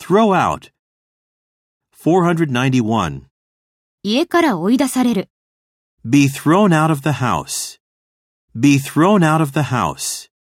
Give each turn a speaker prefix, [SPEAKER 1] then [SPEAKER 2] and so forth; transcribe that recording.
[SPEAKER 1] throw out. 491.
[SPEAKER 2] 家から追い出される。
[SPEAKER 1] Be thrown out of the house. Be thrown out of the house.